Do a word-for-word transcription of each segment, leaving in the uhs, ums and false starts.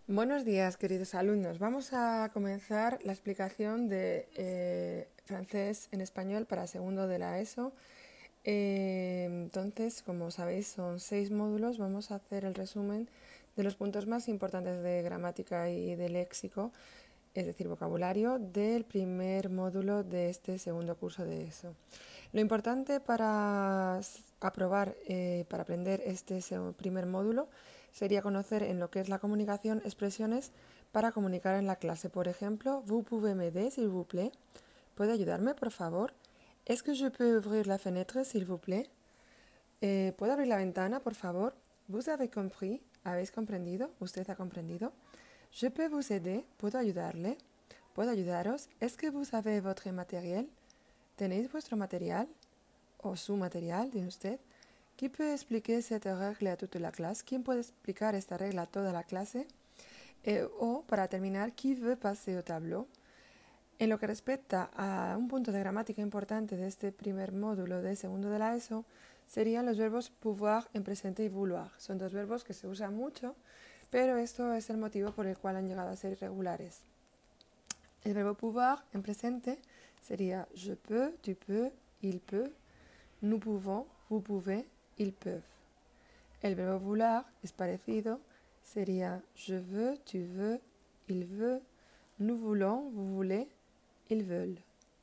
Buenos días, queridos alumnos. Vamos a comenzar la explicación de eh, francés en español para segundo de la ESO. Eh, entonces, como sabéis, son seis módulos. Vamos a hacer el resumen de los puntos más importantes de gramática y de léxico, es decir, vocabulario, del primer módulo de este segundo curso de ESO. Lo importante para aprobar, eh, para aprender este primer módulo, sería conocer en lo que es la comunicación expresiones para comunicar en la clase. Por ejemplo, vous pouvez m'aider, s'il vous plaît. ¿Puede ayudarme, por favor? Est-ce que je peux ouvrir la fenêtre, s'il vous plaît? Eh, ¿Puedo abrir la ventana, por favor? Vous avez compris. ¿Habéis comprendido? ¿Usted ha comprendido? Je peux vous aider. ¿Puedo ayudarle? ¿Puedo ayudaros? Est-ce que vous avez votre matériel? ¿Tenéis vuestro material? ¿O su material, dice usted? ¿Qui peut expliquer cette règle à toute la classe? ¿Quién puede explicar esta regla a toda la clase? Eh, o, para terminar, qui veut passer au tableau? En lo que respecta a un punto de gramática importante de este primer módulo de segundo de la ESO, serían los verbos pouvoir en presente y vouloir. Son dos verbos que se usan mucho, pero esto es el motivo por el cual han llegado a ser irregulares. El verbo pouvoir en presente sería je peux, tu peux, il peut, nous pouvons, vous pouvez, ils peuvent. El verbo vouloir es parecido, sería je veux, tu veux, il veut, nous voulons, vous voulez, ils veulent.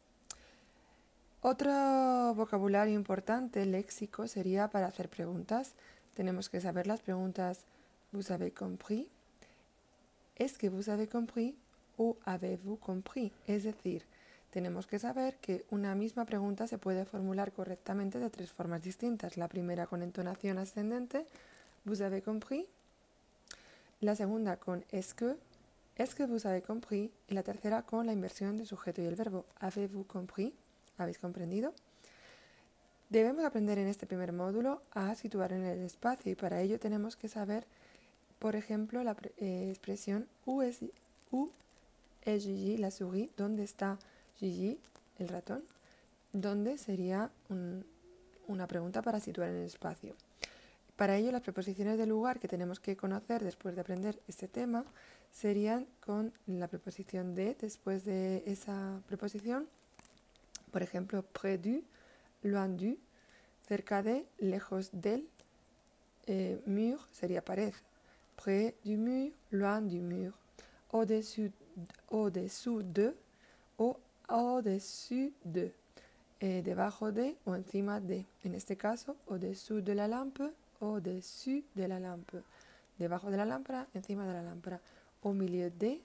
Otro vocabulario importante, léxico, sería para hacer preguntas. Tenemos que saber las preguntas vous avez compris, est-ce que vous avez compris o avez-vous compris. Es decir, tenemos que saber que una misma pregunta se puede formular correctamente de tres formas distintas. La primera con entonación ascendente, vous avez compris. La segunda con est-ce que, est-ce que vous avez compris. Y la tercera con la inversión del sujeto y el verbo, avez-vous compris. ¿Habéis comprendido? Debemos aprender en este primer módulo a situar en el espacio y para ello tenemos que saber, por ejemplo, la eh, expresión où est, où est Gigi, la souris, ¿dónde está Gigi, el ratón? ¿Dónde sería un, una pregunta para situar en el espacio? Para ello, las preposiciones de lugar que tenemos que conocer después de aprender este tema serían con la preposición de, después de esa preposición, por ejemplo, près du, loin du, cerca de, lejos del, eh, mur sería pared, près du mur, loin du mur, au-dessus, au-dessous de o au-dessus de, eh, debajo de o encima de. En este caso, au-dessous de la lampe, au-dessus de la lampe. Debajo de la lámpara, encima de la lámpara. Au milieu de,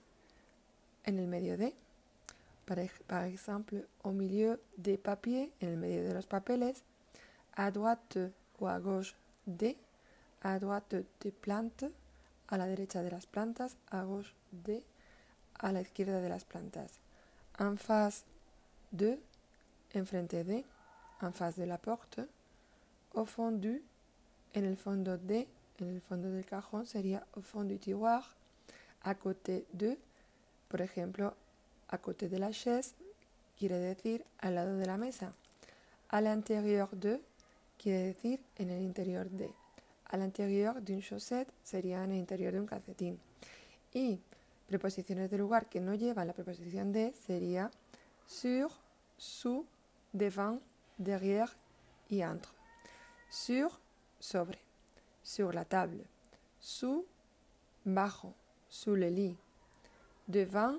en el medio de. Par, par exemple, au milieu des papiers, en el medio de los papeles. À droite o à gauche de, à droite des plantes, a la derecha de las plantas, à gauche de, a la izquierda de las plantas. En face de, enfrente de, en face de la porte. Au fond du, en el fondo de, en el fondo del cajón sería au fond du tiroir. À côté de, por ejemplo, à côté de la chaise, quiere decir al lado de la mesa. À l'intérieur de, quiere decir en el interior de. À l'intérieur d'une chaussette sería en el interior de un calcetín. Y preposiciones de lugar que no llevan la preposición de sería sur, sous, devant, derrière y entre. Sur, sobre. Sur la table. Sous, bajo. Sous le lit. Devant,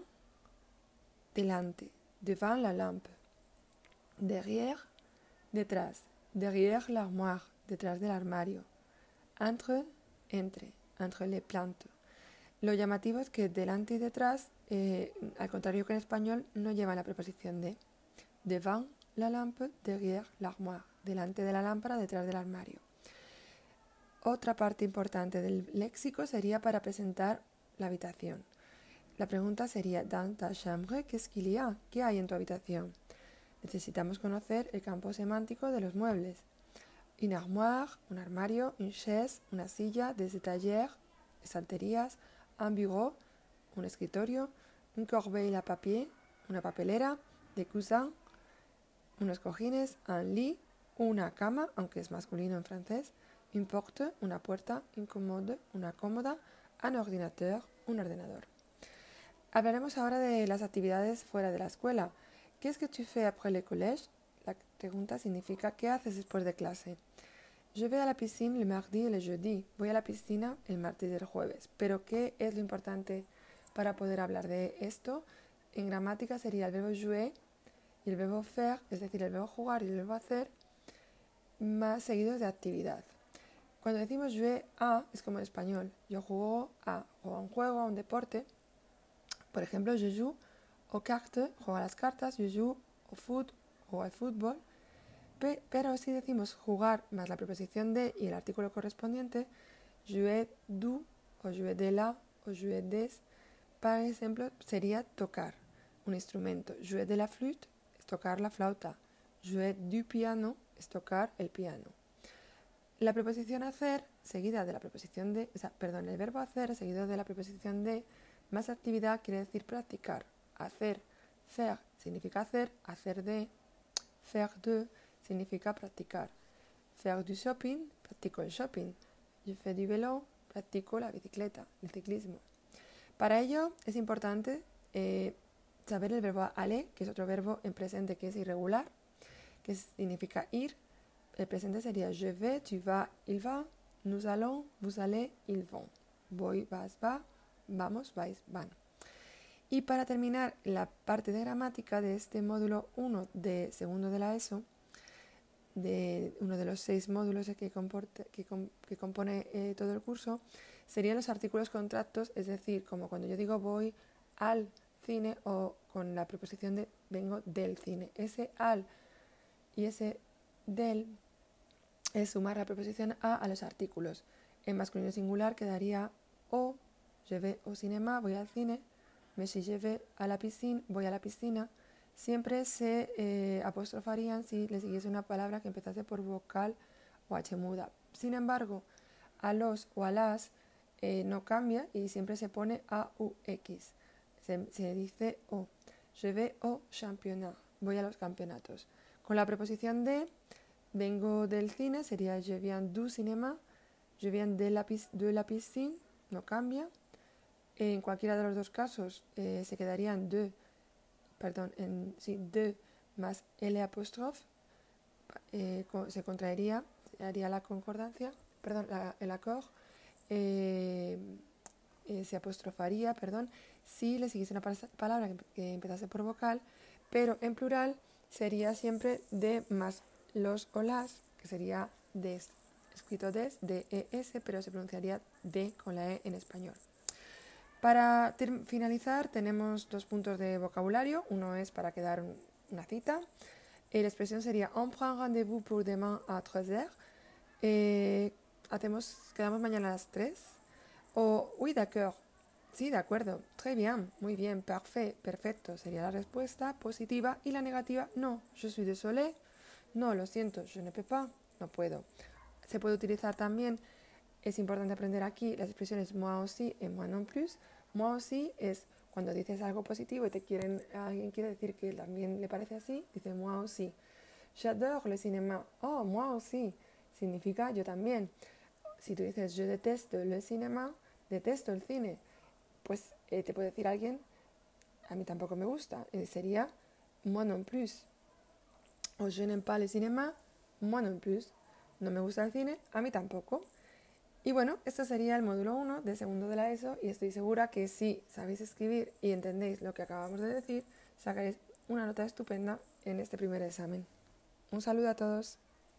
delante. Devant la lampe. Derrière, detrás. Derrière l'armoire. Detrás del armario. Entre, entre. Entre les plantes. Lo llamativo es que delante y detrás, eh, al contrario que en español, no llevan la preposición de. Devant la lampe, derrière l'armoire. Delante de la lámpara, detrás del armario. Otra parte importante del léxico sería para presentar la habitación. La pregunta sería, dans ta chambre, qu'est-ce qu'il y a? ¿Qué hay en tu habitación? Necesitamos conocer el campo semántico de los muebles. Une armoire, un armario, une chaise, una silla, des étagères, estanterías, un bureau, un escritorio, une corbeille à papier, una papelera, des coussins, unos cojines, un lit, una cama, aunque es masculino en francés, une porte, una puerta, une commode, una cómoda, un ordinateur, un ordenador. Hablaremos ahora de las actividades fuera de la escuela. ¿Qué es que tu fais après le collège? La pregunta significa ¿qué haces después de clase? Je vais à la piscine le mardi et le jeudi. Voy a la piscina el martes y el jueves. Pero ¿qué es lo importante para poder hablar de esto? En gramática sería el verbo jouer y el verbo faire, es decir, el verbo jugar y el verbo hacer, más seguidos de actividad. Cuando decimos jouer a, es como en español. Yo juego a, juego a un juego, a un deporte. Por ejemplo, je joue aux cartes, juego a las cartas. Je joue au foot, juego al fútbol. Pero si decimos jugar más la preposición de y el artículo correspondiente, jouer du, o jouer de la, o jouer des, por ejemplo, sería tocar un instrumento. Jouer de la flûte es tocar la flauta. Jouer du piano es tocar el piano. La preposición hacer, seguida de la preposición de, o sea, perdón, el verbo hacer, seguido de la preposición de, más actividad quiere decir practicar. Hacer, faire, significa hacer, hacer de, faire de, significa practicar. Faire du shopping, practico el shopping. Je fais du vélo, practico la bicicleta, el ciclismo. Para ello es importante eh, saber el verbo aller, que es otro verbo en presente que es irregular, que significa ir. El presente sería je vais, tu vas, il va, nous allons, vous allez, ils vont. Voy, vas, va, vamos, vais, van. Y para terminar la parte de gramática de este módulo uno de segundo de la ESO, de uno de los seis módulos que, comporte, que, com, que compone eh, todo el curso, serían los artículos contractos, es decir, como cuando yo digo voy al cine o con la preposición de vengo del cine. Ese al y ese del es sumar la preposición a a los artículos. En masculino singular quedaría au, je vais au cinéma, voy al cine, mais si je vais à la piscine, voy a la piscina. Siempre se eh, apostrofarían si le siguiese una palabra que empezase por vocal o h muda. Sin embargo, a los o a las eh, no cambia y siempre se pone a u x. Se, se dice o. Je vais au championnat, voy a los campeonatos. Con la preposición de, vengo del cine, sería je viens du cinéma, je viens de la, de la piscine, no cambia. En cualquiera de los dos casos eh, se quedarían de, perdón, en, sí, de más L apóstrofe, eh, se contraería, se haría la concordancia, perdón, la, el accord, eh, eh, se apostrofaría, perdón, si le siguiese una palabra que, que empezase por vocal, pero en plural sería siempre de más los o las, que sería des, escrito des, D E S, pero se pronunciaría de con la E en español. Para ter- finalizar tenemos dos puntos de vocabulario. Uno es para quedar una cita. Eh, la expresión sería on prend rendez-vous pour demain à tres heures. Eh, hacemos, quedamos mañana a las tres. O oui, d'accord. Sí, de acuerdo. Très bien. Muy bien. Parfait. Perfecto. Sería la respuesta positiva. Y la negativa, no. Je suis désolé. No, lo siento. Je ne peux pas. No puedo. Se puede utilizar también. Es importante aprender aquí las expresiones moi aussi y moi non plus. Moi aussi es cuando dices algo positivo y te quieren, alguien quiere decir que también le parece así, dice moi aussi. J'adore le cinéma. Oh, moi aussi. Significa yo también. Si tú dices je déteste le cinéma, detesto el cine, pues eh, te puede decir alguien, a mí tampoco me gusta. Eh, sería moi non plus. O je n'aime pas le cinéma, moi non plus. No me gusta el cine, a mí tampoco. Y bueno, esto sería el módulo uno de segundo de la ESO y estoy segura que si sabéis escribir y entendéis lo que acabamos de decir, sacaréis una nota estupenda en este primer examen. Un saludo a todos.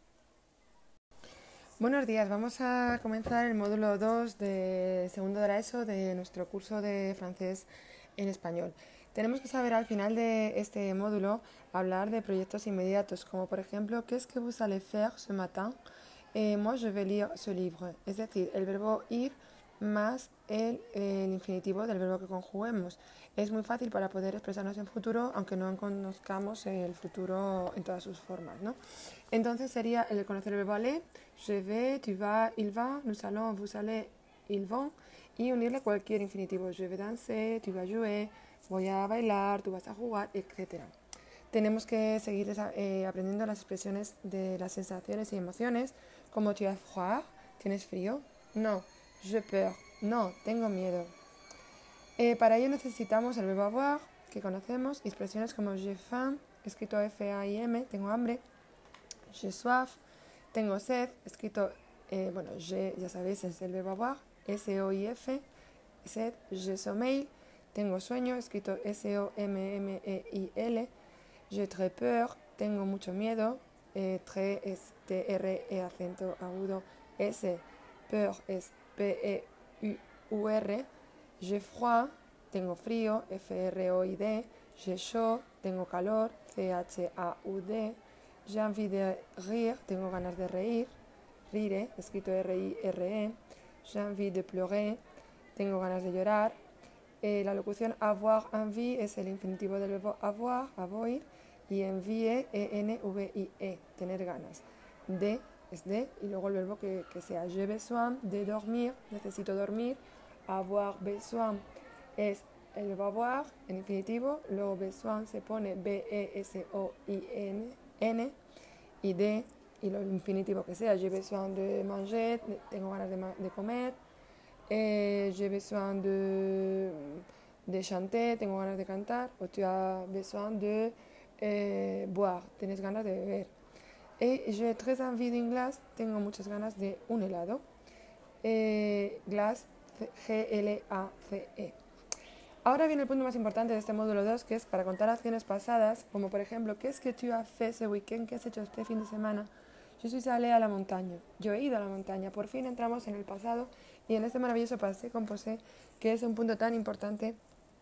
Buenos días, vamos a comenzar el módulo dos de segundo de la ESO de nuestro curso de francés en español. Tenemos que saber al final de este módulo hablar de proyectos inmediatos, como por ejemplo, ¿qué es que vous allez faire ce matin? Eh, moi, je vais lire ce livre. Es decir, el verbo ir más el, el infinitivo del verbo que conjuguemos. Es muy fácil para poder expresarnos en futuro, aunque no conozcamos el futuro en todas sus formas, ¿no? Entonces sería el conocer el verbo aller, je vais, tu vas, il va, nous allons, vous allez, ils vont, y unirle cualquier infinitivo. Je vais danser, tu vas jouer, voy a bailar, tú vas a jugar, etcétera. Tenemos que seguir eh, aprendiendo las expresiones de las sensaciones y emociones, como tu as froid, ¿tienes frío? No, j'ai peur, No, tengo miedo. Eh, para ello necesitamos el verbo avoir, que conocemos, expresiones como j'ai faim, escrito F A I M, tengo hambre, j'ai soif, tengo sed, escrito, eh, bueno, j'ai, ya sabéis, es el verbo avoir, S O I F, sed, j'ai sommeil, tengo sueño, escrito S O M M E I L, j'ai très peur, tengo mucho miedo, eh, très es T R E acento agudo, S, peur es P E U R, j'ai froid, tengo frío, F R O I D, j'ai chaud, tengo calor, C H A U D, j'ai envie de rire, tengo ganas de reír, rire, escrito R I R E, j'ai envie de pleurer, tengo ganas de llorar. Eh, la locución avoir envie es el infinitivo del verbo avoir, avoir, y envie, E N V I E, tener ganas. De es de, y luego el verbo que, que sea. J'ai besoin de dormir, necesito dormir. Avoir besoin es el verbo avoir, en infinitivo, luego besoin se pone B E S O I N, y de, y lo infinitivo que sea. J'ai besoin de manger, tengo ganas de, de comer. Eh, j'ai besoin de, de chanter, tengo ganas de cantar. O tu as besoin de eh, boire, tienes ganas de beber. Et j'ai très envie d'un glace, tengo muchas ganas de un helado. Eh, glace, G L A C E. Ahora viene el punto más importante de este módulo dos, que es para contar acciones pasadas, como por ejemplo, ¿qué es que tu as fait ce week-end? ¿Qué has hecho este fin de semana? Je suis allé a la montaña. Yo he ido a la montaña. Por fin entramos en el pasado y en este maravilloso passé composé, que es un punto tan importante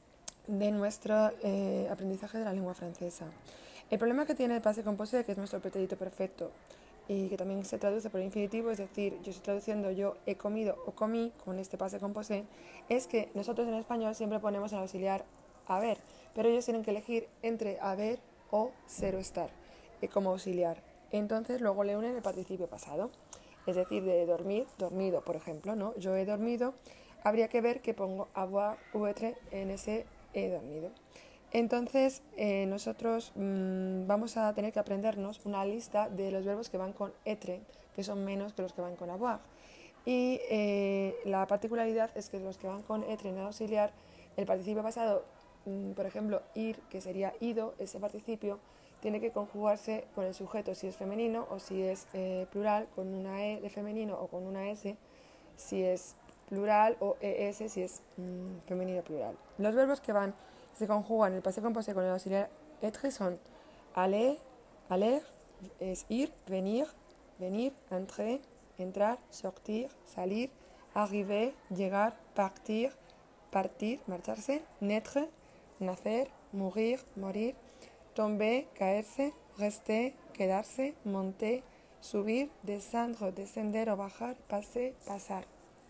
de nuestro eh, aprendizaje de la lengua francesa. El problema que tiene el passé composé, que es nuestro pretérito perfecto y que también se traduce por infinitivo, es decir, yo estoy traduciendo yo he comido o comí con este passé composé, es que nosotros en español siempre ponemos el auxiliar haber, pero ellos tienen que elegir entre haber o ser o estar eh, como auxiliar. Entonces luego le unen el participio pasado, es decir, de dormir, dormido, por ejemplo, ¿no? Yo he dormido, habría que ver que pongo avoir ou être en ese he dormido. Entonces eh, nosotros mmm, vamos a tener que aprendernos una lista de los verbos que van con être, que son menos que los que van con avoir. Y eh, la particularidad es que los que van con être en el auxiliar, el participio pasado, mmm, por ejemplo, ir, que sería ido, ese participio, tiene que conjugarse con el sujeto si es femenino o si es eh, plural, con una E de femenino o con una S si es plural, o E S si es mmm, femenino plural. Los verbos que van se conjugan el passé composé con el auxiliar être son aller, aller, es ir, venir, venir, entrer, entrar, sortir, salir, arriver, llegar, partir, partir, marcharse, naître, nacer, mourir, morir, tomber, caerse, rester, quedarse, monter, subir, descendre, descender o bajar, passer, pasar.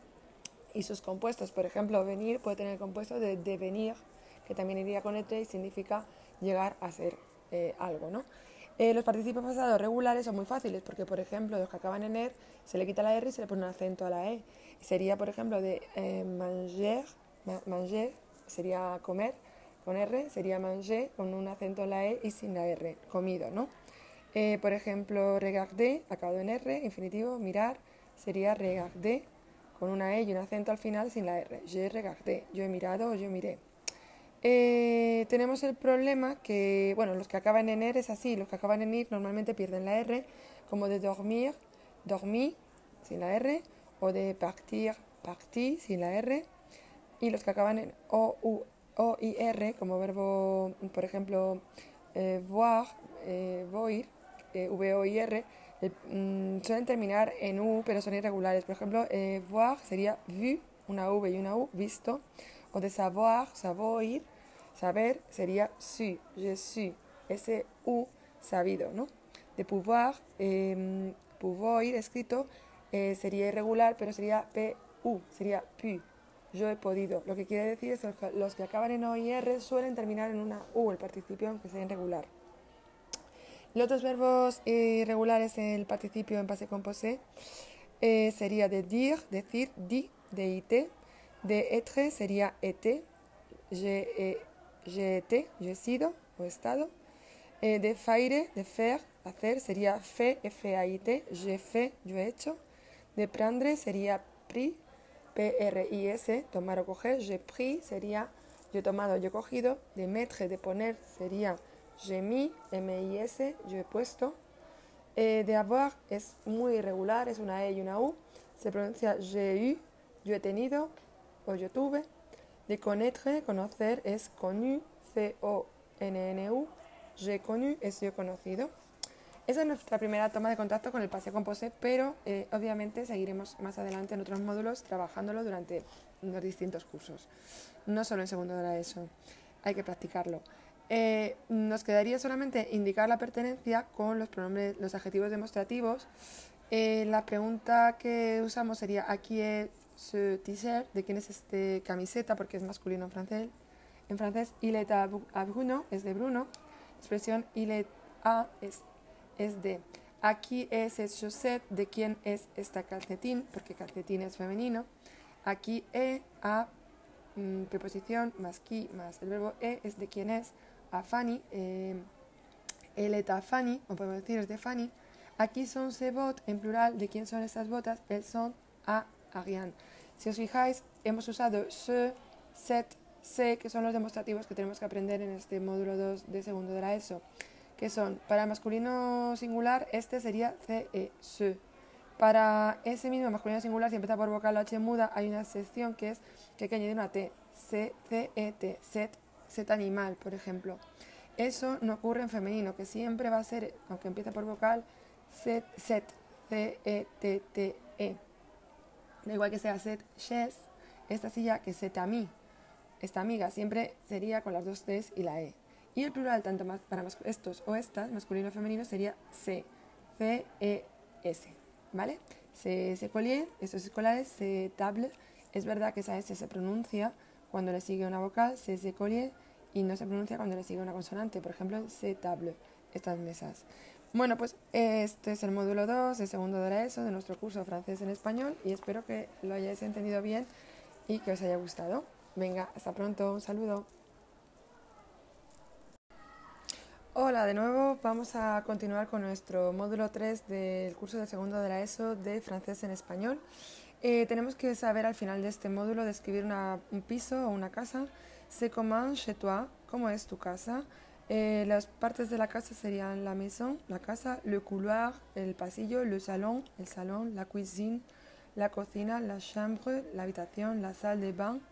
Y sus compuestos, por ejemplo, venir puede tener el compuesto de devenir, que también iría con être y significa llegar a ser eh, algo, ¿no? Eh, los participios pasados regulares son muy fáciles porque, por ejemplo, los que acaban en er, se le quita la R y se le pone un acento a la E. Sería, por ejemplo, de eh, manger, ma manger, sería comer con R, sería manger con un acento en la E y sin la R, comido, ¿no? Eh, por ejemplo, regarder, acabado en R, infinitivo, mirar, sería regarder con una E y un acento al final sin la R. Je regardé, yo he mirado o yo miré. Eh, tenemos el problema que, bueno, los que acaban en er es así, los que acaban en ir normalmente pierden la R, como de dormir, dormí, sin la R, o de partir, parti, sin la R, y los que acaban en O, U, O y R, como verbo, por ejemplo, eh, voir, eh, voir, eh, V, O y R, eh, mm, suelen terminar en U, pero son irregulares. Por ejemplo, eh, voir sería vu, una V y una U, visto, o de savoir, savoir, saber sería su, je suis, ese U, sabido, ¿no? De pouvoir, eh, pouvoir, escrito, eh, sería irregular, pero sería P U, sería pu, yo he podido. Lo que quiere decir es que los que acaban en O y R suelen terminar en una U, el participio, aunque sea irregular. Los otros verbos irregulares en el participio en passé composé eh, sería de dire, decir, di, de ite, de être sería été, j'ai été, yo he sido o estado, eh, de faire, de faire, hacer sería fait, F A I T, j'ai fait, yo he hecho, de prendre sería pris, P R I S, tomar o coger. J'ai pris sería yo he tomado, yo he cogido. De mettre, de poner, sería j'ai mis, M I S, yo he puesto. Eh, de avoir es muy irregular, es una E y una U. Se pronuncia j'ai eu, yo he tenido o yo tuve. De connaître, conocer, es connu, C O N N U. J'ai connu es yo he conocido. Esa es nuestra primera toma de contacto con el passé composé, pero eh, obviamente seguiremos más adelante en otros módulos trabajándolo durante los distintos cursos. No solo en segundo de la ESO, hay que practicarlo. Eh, nos quedaría solamente indicar la pertenencia con los pronombres, los adjetivos demostrativos. Eh, la pregunta que usamos sería ¿a qui est ce t-shirt? ¿De quién es este camiseta? Porque es masculino en francés. En francés, il est à Bruno, es de Bruno. Expresión il est à es, es de. ¿A qui est cette chaussette? ¿De quién es esta calcetín? Porque calcetín es femenino. Aquí est a mm, preposición más qui más el verbo e es de quién es. A Fanny, eh, elle est à Fanny, o podemos decir es de Fanny. Aquí son ces bottes, en plural, ¿de quién son estas botas? Elles sont à Ariane. Si os fijáis, hemos usado ce, cette, ce, que son los demostrativos que tenemos que aprender en este módulo dos de segundo de la ESO, que son, para el masculino singular, este sería ce, ce. Para ese mismo masculino singular, si empieza por vocal o H muda, hay una sección que es que hay que añadir una T, C, C, E, T, set, set animal, por ejemplo. Eso no ocurre en femenino, que siempre va a ser, aunque empiece por vocal, set, set, C, E, T, T, E. Da igual que sea set, chaise, esta silla que set a mí. Esta amiga siempre sería con las dos T's y la E. Y el plural, tanto más para estos o estas, masculino o femenino, sería C, C, E, S. ¿Vale? Se, se collier, estos escolares, se table. Es verdad que esa S se pronuncia cuando le sigue una vocal, se, se collier, y no se pronuncia cuando le sigue una consonante. Por ejemplo, se table, estas mesas. Bueno, pues este es el módulo dos, el segundo de la ESO, de nuestro curso francés en español, y espero que lo hayáis entendido bien y que os haya gustado. Venga, hasta pronto, un saludo. Hola, de nuevo vamos a continuar con nuestro módulo tres del curso de segundo de la ESO de francés en español. Eh, tenemos que saber al final de este módulo describir una, un piso o una casa. C'est comment chez toi, ¿cómo es tu casa? Eh, las partes de la casa serían la maison, la casa, le couloir, el pasillo, le salon, el salón, la cuisine, la cocina, la chambre, la habitación, la salle de bain,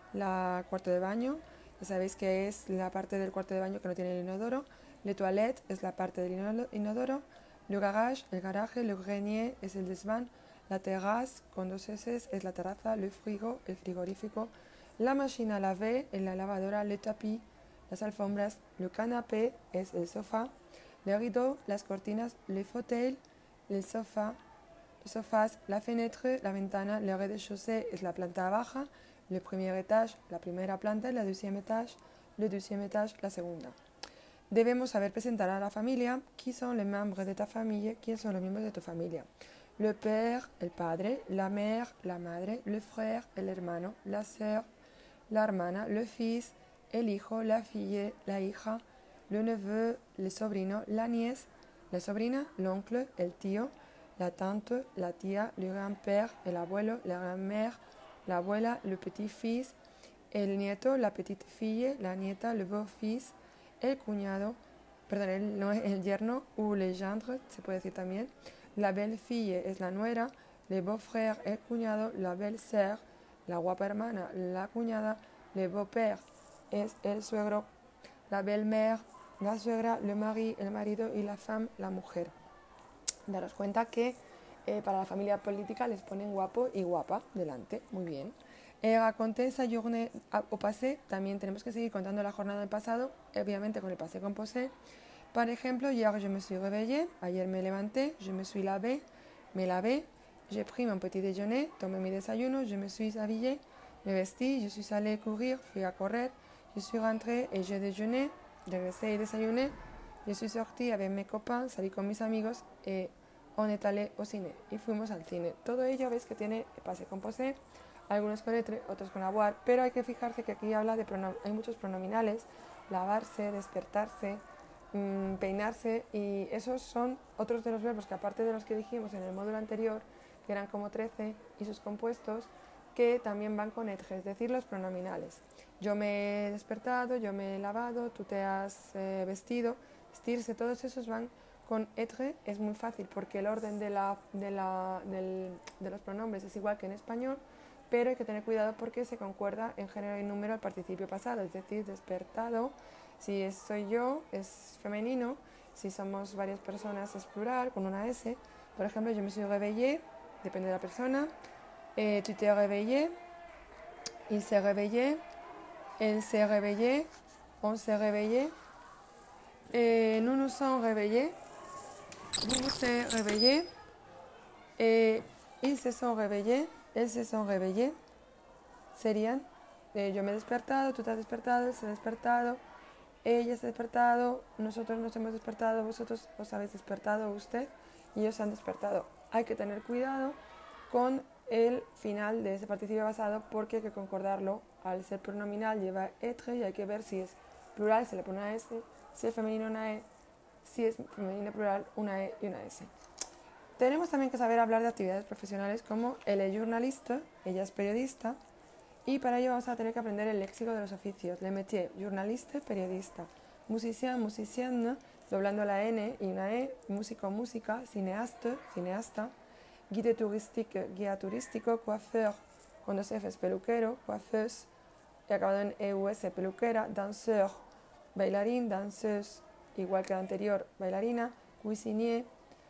la cuarto de baño. Ya sabéis que es la parte del cuarto de baño que no tiene el inodoro. Le toilette es la parte del inodoro. Le garage, el garaje. Le grenier es el desván. La terrasse, con dos S, es la terraza. Le frigo, el frigorífico. La machine à laver, en la lavadora. Le tapis, las alfombras. Le canapé es el sofá. Le rideau, las cortinas. Le fauteuil, el sofá. Los sofás, la fenêtre, la ventana. Le rez-de-chaussée es la planta baja. Le premier étage, la primera planta. La deuxième étage, le deuxième étage, la segunda. Debemos saber presentar a la familia. ¿Quiénes son los miembros de ta familia? ¿Quiénes son los miembros de tu familia? Le père, el padre. La mère, la madre. Le frère, el hermano. La sœur, la hermana. Le fils, el hijo. La fille, la hija. Le neveu, el sobrino. La nièce, la sobrina. L'oncle, el tío. La tante, la tía. Le grand-père, el abuelo. La grand-mère, la abuela. Le petit-fils, el nieto. La petite-fille, la nieta. Le beau-fils, el cuñado, perdón, el, no, el yerno, o le gendre, se puede decir también. La belle-fille es la nuera, le beau-frère, el cuñado, la belle-sœur, la guapa hermana, la cuñada, le beau-père es el suegro, la belle-mère, la suegra, le mari, el marido y la femme, la mujer. Daros cuenta que eh, para la familia política les ponen guapo y guapa delante, muy bien. Eh, raconter sa journée au passé, también tenemos que seguir contando la jornada del pasado, obviamente con el passé composé. Por ejemplo, hier je me suis réveillée, ayer me levanté, je me suis lavé, me lavé, j'ai pris mon petit déjeuner, tomé mi desayuno, je me suis habillée, me vestí, je suis allée courir, fui a correr, je suis rentrée et j'ai déjeuné, regresé y desayuné, je suis sortie avec mes copains, salí con mis amigos et on est allé au ciné, y fuimos al cine. Todo ello veis que tiene passé composé, algunos con etre, otros con avoir, pero hay que fijarse que aquí habla de pronom- hay muchos pronominales, lavarse, despertarse, mmm, peinarse, y esos son otros de los verbos que aparte de los que dijimos en el módulo anterior, que eran como trece, y sus compuestos, que también van con être, es decir, los pronominales. Yo me he despertado, yo me he lavado, tú te has eh, vestido, vestirse, todos esos van con être. Es muy fácil porque el orden de, la, de, la, del, de los pronombres es igual que en español, pero hay que tener cuidado porque se concuerda en género y número al participio pasado, es decir, despertado. Si es soy yo, es femenino. Si somos varias personas, es plural, con una S. Por ejemplo, je me suis réveillé, depende de la persona. Eh, tu t'es réveillé, il s'est réveillé, elle s'est réveillée, on s'est réveillé. Eh, nous nous sommes réveillés, vous vous êtes réveillés. Eh, ils se sont réveillés, elles se sont réveillées. Serían, eh, yo me he despertado, tú te has despertado, él se ha despertado. Ella se ha despertado, nosotros nos hemos despertado, vosotros os habéis despertado, usted y ellos se han despertado. Hay que tener cuidado con el final de ese participio basado porque hay que concordarlo. Al ser pronominal lleva être y hay que ver si es plural, se le pone una S, si es femenino una E, si es femenino plural una E y una S. Tenemos también que saber hablar de actividades profesionales como elle est journaliste, ella es periodista. Y para ello vamos a tener que aprender el léxico de los oficios. Le métier, journaliste, periodista. Musicien, musicienne, doblando la N y una E. Músico, música. Cineaste, cineasta. Guide touristique, guía turístico. Coiffeur, con dos Fs, peluquero. Coiffeuse, acabado en E U S, peluquera. Danseur, bailarín. Danseuse, igual que la anterior, bailarina. Cuisinier,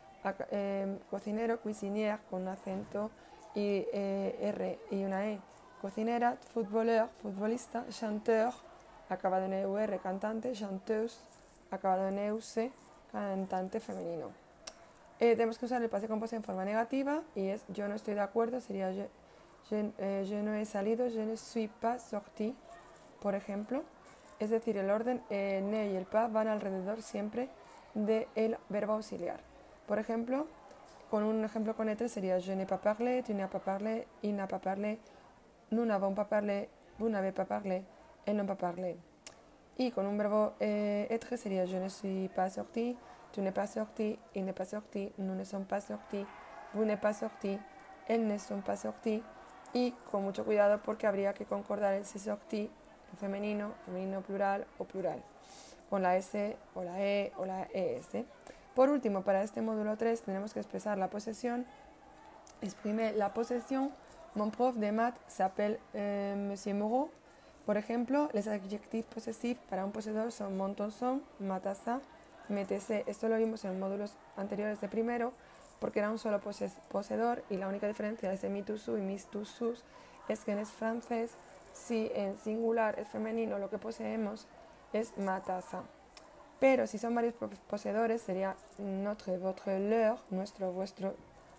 eh, cocinero. Cuisinière, con acento y eh, R y una E. Cocinera, footballeur, futbolista, chanteur, acabado en E U R, cantante, chanteuse, acabado en E U C, cantante femenino. Eh, tenemos que usar el passé composé en forma negativa y es yo no estoy de acuerdo, sería je, je, eh, je no he salido, je ne suis pas sorti, por ejemplo. Es decir, el orden eh, ne y el pas van alrededor siempre del verbo auxiliar. Por ejemplo, con un ejemplo con être sería je n'ai pas parlé, tu n'as pas parlé, il n'a pas parlé. Nous n'avons pas parlé, vous n'avez pas parlé, elles n'ont pas parlé. Y con un verbo eh, être sería je ne suis pas sorti, tu n'es pas sorti, il n'est pas sorti, nous ne sommes pas sortis, vous n'êtes pas sorti, elles ne sont pas sorties. Y con mucho cuidado porque habría que concordar el se sorti en femenino, femenino plural o plural, con la S o la E o la E S. Por último, para este módulo tres tenemos que expresar la posesión, exprimer la posesión. Mon prof de maths s'appelle euh, Monsieur Moreau. Por ejemplo, les adjectifs posesifs para un poseedor son mon ton son, ma taza, me tese. Esto lo vimos en módulos anteriores de primero porque era un solo poses poseedor y la única diferencia de mi tu su y mis tu sus es que en es francés, si en singular es femenino, lo que poseemos es ma taza. Pero si son varios poseedores sería notre, votre, leur, nuestro, vuestro,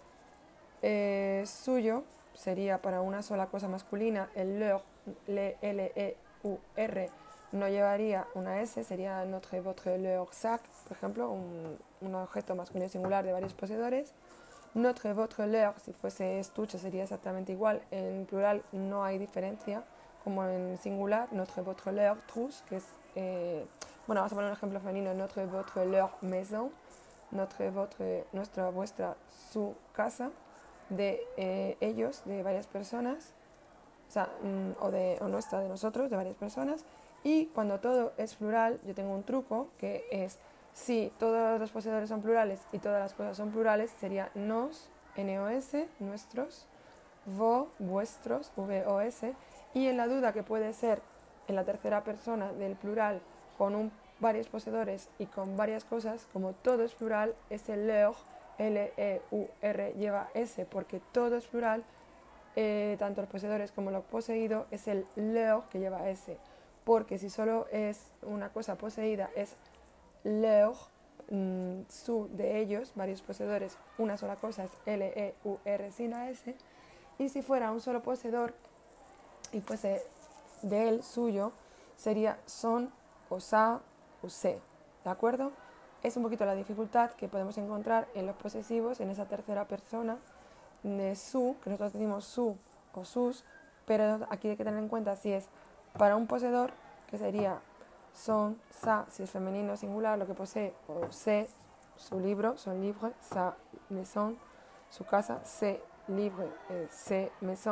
eh, suyo. Sería para una sola cosa masculina, el leur, le, L, E, U, R, no llevaría una S, sería notre, votre, leur, sac, por ejemplo, un, un objeto masculino singular de varios poseedores. Notre, votre, leur, si fuese estuche, sería exactamente igual. En plural no hay diferencia, como en singular, notre, votre, leur, trousse, que es, eh, bueno, vamos a poner un ejemplo femenino, notre, votre, leur, maison, notre, votre, nuestra, vuestra, su casa. De eh, ellos, de varias personas, o sea, mm, o, de, o nuestra, de nosotros, de varias personas. Y cuando todo es plural, yo tengo un truco que es, si todos los poseedores son plurales y todas las cosas son plurales, sería nos, N O S, nuestros, vos, vuestros, V O S. Y en la duda que puede ser en la tercera persona del plural con un, varios poseedores y con varias cosas, como todo es plural, es el leur, L, E, U, R lleva S porque todo es plural, eh, tanto los poseedores como lo poseído es el leur que lleva S, porque si solo es una cosa poseída es leur, mmm, su de ellos, varios poseedores, una sola cosa es L, E, U, R sin la S, y si fuera un solo poseedor y fuese de él, suyo, sería son o sa o se, ¿de acuerdo? Es un poquito la dificultad que podemos encontrar en los posesivos, en esa tercera persona de su, que nosotros decimos su o sus, pero aquí hay que tener en cuenta si es para un poseedor, que sería son, sa, si es femenino singular, lo que posee, o se, su libro, son livre, sa, maison, su casa, se, livre, eh, se, maison,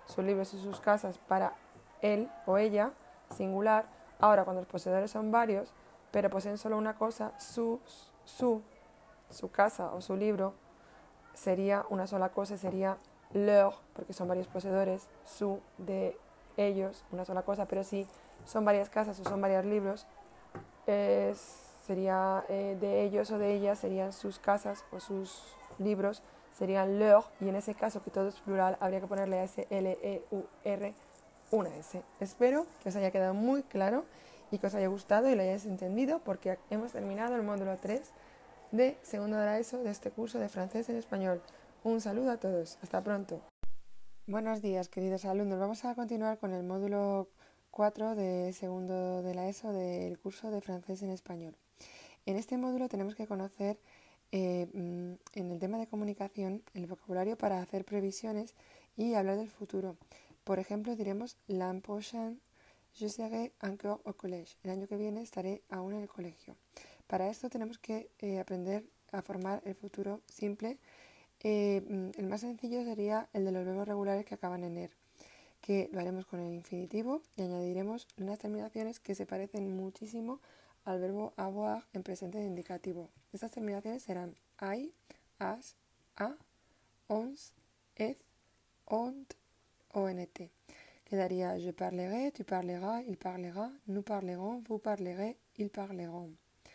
sus libros y sus casas para él o ella, singular. Ahora, cuando los poseedores son varios, pero poseen solo una cosa, su, su, su casa o su libro sería una sola cosa, sería leur, porque son varios poseedores, su, de ellos, una sola cosa, pero si son varias casas o son varios libros, eh, sería eh, de ellos o de ellas, serían sus casas o sus libros, serían leur, y en ese caso, que todo es plural, habría que ponerle S, L, E, U, R, una S. Espero que os haya quedado muy claro y que os haya gustado y lo hayáis entendido, porque hemos terminado el módulo tres de segundo de la ESO de este curso de francés en español. Un saludo a todos. Hasta pronto. Buenos días, queridos alumnos. Vamos a continuar con el módulo cuatro de segundo de la ESO del curso de francés en español. En este módulo tenemos que conocer eh, en el tema de comunicación el vocabulario para hacer previsiones y hablar del futuro. Por ejemplo, diremos l'an prochain je serai encore au collège. El año que viene estaré aún en el colegio. Para esto tenemos que eh, aprender a formar el futuro simple. Eh, el más sencillo sería el de los verbos regulares que acaban en er, que lo haremos con el infinitivo y añadiremos unas terminaciones que se parecen muchísimo al verbo avoir en presente de indicativo. Estas terminaciones serán ai, as, a, ons, eth, ont, ont. Quedaría je parlerai, tu parleras, il parlera, nous parlerons, vous parlerez, ils parleront.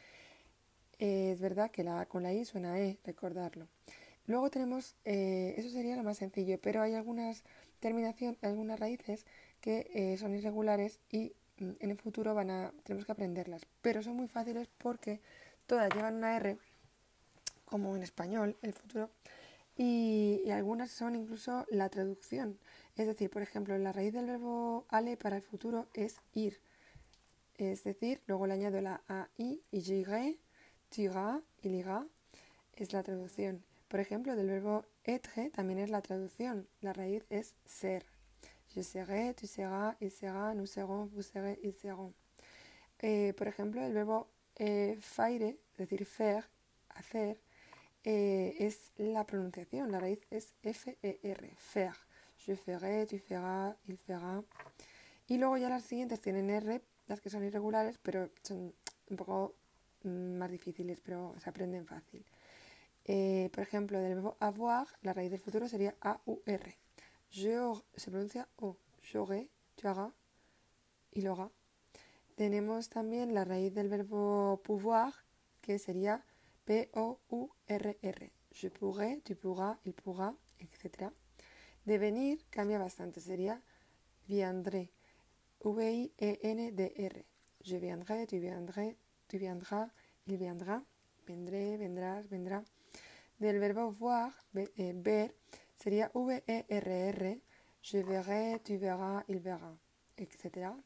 Eh, es verdad que la A con la I suena a E, recordarlo. Luego tenemos, eh, eso sería lo más sencillo, pero hay algunas terminaciones, algunas raíces que eh, son irregulares y mm, en el futuro van a, tenemos que aprenderlas. Pero son muy fáciles porque todas llevan una R, como en español, el futuro, y, y algunas son incluso la traducción. Es decir, por ejemplo, la raíz del verbo aller para el futuro es ir. Es decir, luego le añado la A I y j'irai, tu iras, il ira, es la traducción. Por ejemplo, del verbo être también es la traducción. La raíz es ser. Je serai, tu seras, il sera, nous serons, vous serez, ils seront. Eh, por ejemplo, el verbo eh, faire, es decir, faire, hacer, eh, es la pronunciación. La raíz es F E R, faire. Je ferai, tu feras, il fera. Y luego ya las siguientes tienen R, las que son irregulares, pero son un poco mm, más difíciles, pero se aprenden fácil. Eh, por ejemplo, del verbo avoir, la raíz del futuro sería A U R. Je, se pronuncia O. J'aurai, tu auras, il aura. Tenemos también la raíz del verbo pouvoir, que sería P O U R R. Je pourrai, tu pourras, il pourra, etcétera. De venir cambia bastante, sería viendré. V I E N D R. Je viendrai, tu viendré, tu viendras, il viendra. Vendré, vendrás, vendrá. Del verbo voir, eh, ver, sería V E R R. Je verrai, tu verras, il verra, etcétera.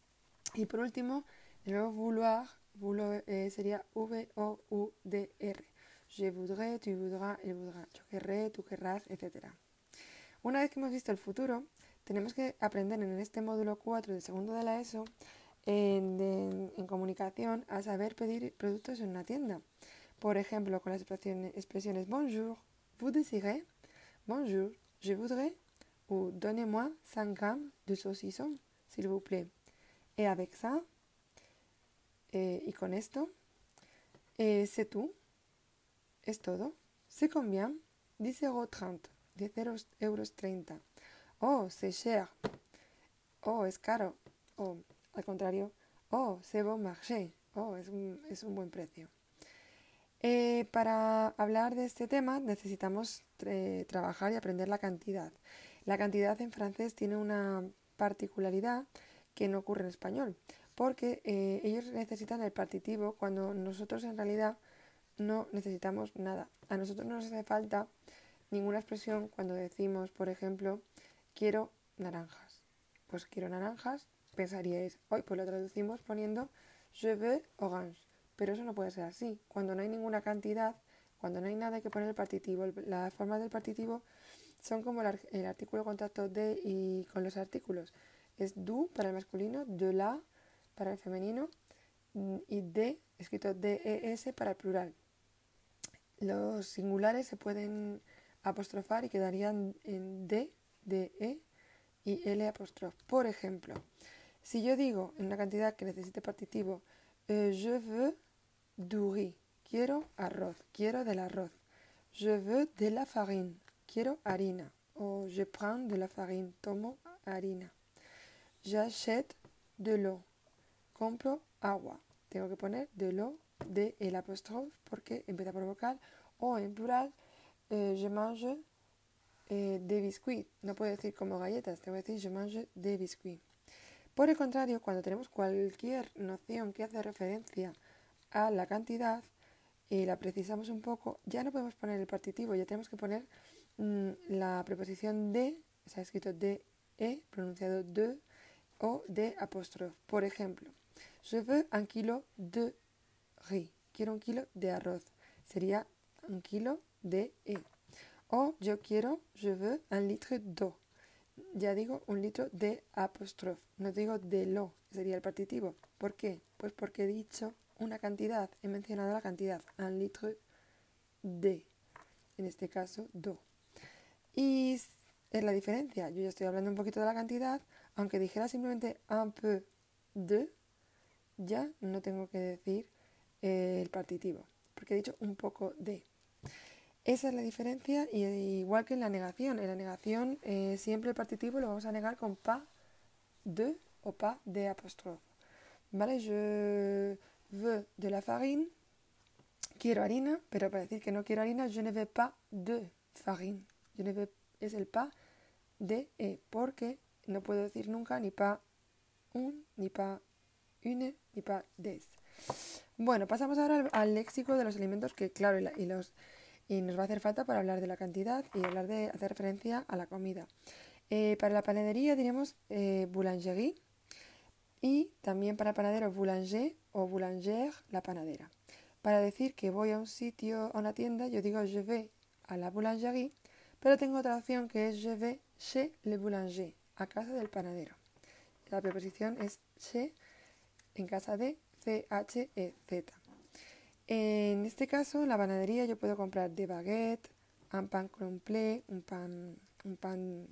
Y por último, el verbo vouloir, vouloir eh, sería V O U D R. Je voudrais, tu voudras, il voudra. Yo querré, tú querrás, etcétera. Una vez que hemos visto el futuro, tenemos que aprender en este módulo cuatro de segundo de la ESO en, de, en comunicación a saber pedir productos en una tienda. Por ejemplo, con las expresiones, expresiones bonjour, vous désirez, bonjour, je voudrais, ou donnez-moi cinq grammes de saucisson, s'il vous plaît. Et avec ça, eh, y con esto, eh, c'est tout, es todo. C'est combien? dix euros trente, diez euros treinta. Oh, c'est cher. Oh, es caro. O, al contrario, oh, c'est bon marché. Oh, es un, es un buen precio. Eh, para hablar de este tema necesitamos eh, trabajar y aprender la cantidad. La cantidad en francés tiene una particularidad que no ocurre en español, porque eh, ellos necesitan el partitivo cuando nosotros en realidad no necesitamos nada. A nosotros no nos hace falta ninguna expresión cuando decimos, por ejemplo, quiero naranjas. Pues quiero naranjas, pensaríais, hoy pues lo traducimos poniendo je veux orange. Pero eso no puede ser así. Cuando no hay ninguna cantidad, cuando no hay nada que poner el partitivo, las formas del partitivo son como el, el artículo contacto de y con los artículos. Es du para el masculino, de la para el femenino y de, escrito D E S para el plural. Los singulares se pueden apostrofar y quedarían en de, de, e y L apóstrofe. Por ejemplo, si yo digo en una cantidad que necesite partitivo, eh, je veux du riz, quiero arroz, quiero del arroz. Je veux de la farine, quiero harina. O je prends de la farine, tomo harina. J'achète de l'eau, compro agua. Tengo que poner de l'eau, de el apóstrofe, porque empieza por vocal. O en plural, eh, je mange eh, des biscuits. No puedo decir como galletas, tengo que decir je mange des biscuits. Por el contrario, cuando tenemos cualquier noción que hace referencia a la cantidad y la precisamos un poco, ya no podemos poner el partitivo, ya tenemos que poner mmm, la preposición de, se ha escrito de, e, pronunciado de, o de apóstrofe. Por ejemplo, je veux un kilo de riz, quiero un kilo de arroz, sería un kilo de e. O yo quiero, je veux un litre d'eau. Ya digo un litro de apóstrofe, no digo de lo, sería el partitivo. ¿Por qué? Pues porque he dicho una cantidad, he mencionado la cantidad, un litre de, en este caso, do. Y es la diferencia, yo ya estoy hablando un poquito de la cantidad, aunque dijera simplemente un peu de, ya no tengo que decir eh, el partitivo, porque he dicho un poco de. Esa es la diferencia, y igual que en la negación. En la negación eh, siempre el partitivo lo vamos a negar con pas de o pas de apóstrofe. ¿Vale? Je veux de la farine, quiero harina, pero para decir que no quiero harina, je ne veux pas de farine. Je ne veux, es el pas de e, porque no puedo decir nunca ni pas un, ni pas une, ni pas des. Bueno, pasamos ahora al, al léxico de los alimentos que, claro, y, la, y los... y nos va a hacer falta para hablar de la cantidad y hablar de hacer referencia a la comida. Eh, para la panadería diremos eh, boulangerie, y también para el panadero boulanger o boulangère, la panadera. Para decir que voy a un sitio, a una tienda, yo digo je vais a la boulangerie, pero tengo otra opción que es je vais chez le boulanger, a casa del panadero. La preposición es chez, en casa de, C H E Z. En este caso, en la panadería yo puedo comprar des baguettes, un pan complet, un pan, un pan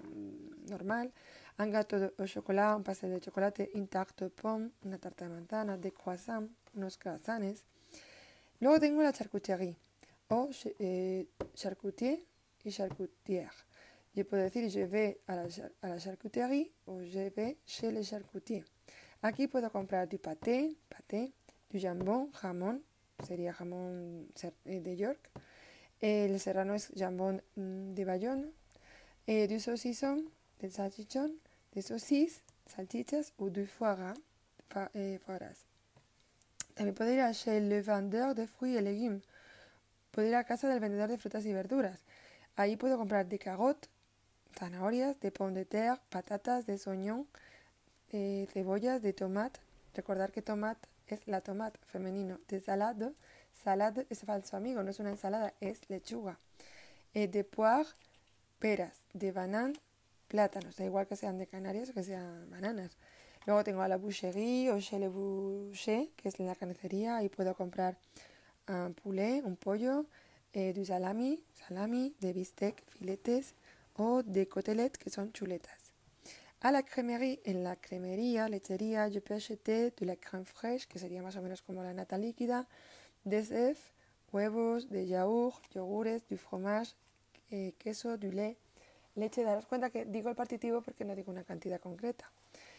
normal, un gâteau au chocolat, un pastel de chocolate, une tarte de pomme, una tarta de manzana, des croissants, unos croissants. Luego tengo la charcuterie, o eh, charcutier y charcutière. Yo puedo decir je vais a la, a la charcuterie o je vais chez le charcutier. Aquí puedo comprar du pâté, pâté, du jambon, jamón, sería jamón de York. El serrano es jambon de Bayonne. Eh, du saucisson, del salchichón, de saucis, salchichas, o du foie gras, fa, eh, foie gras. También puedo ir a chez le vendeur de fruits et légumes. Puedo ir a casa del vendedor de frutas y verduras. Ahí puedo comprar de carottes, zanahorias, de pommes de terre, patatas, de oignons, eh, cebollas, de tomate. Recordar que tomate es la tomate femenino. De salade, salade es falso amigo, no es una ensalada, es lechuga. Eh, de poire, peras. De banane, plátanos. Da igual que sean de Canarias o que sean bananas. Luego tengo a la boucherie o chez le boucher, que es la carnicería. Ahí puedo comprar un poulet, un pollo, eh, du salami, salami, de bistec, filetes, o de côtelettes, que son chuletas. A la crèmerie, en la cremería, lechería, je peux acheter de la crème fraîche, que sería más o menos como la nata líquida, des œufs, huevos, de yaourt, yogures, du fromage, eh, queso, du lait, leche. Daros cuenta que digo el partitivo porque no digo una cantidad concreta.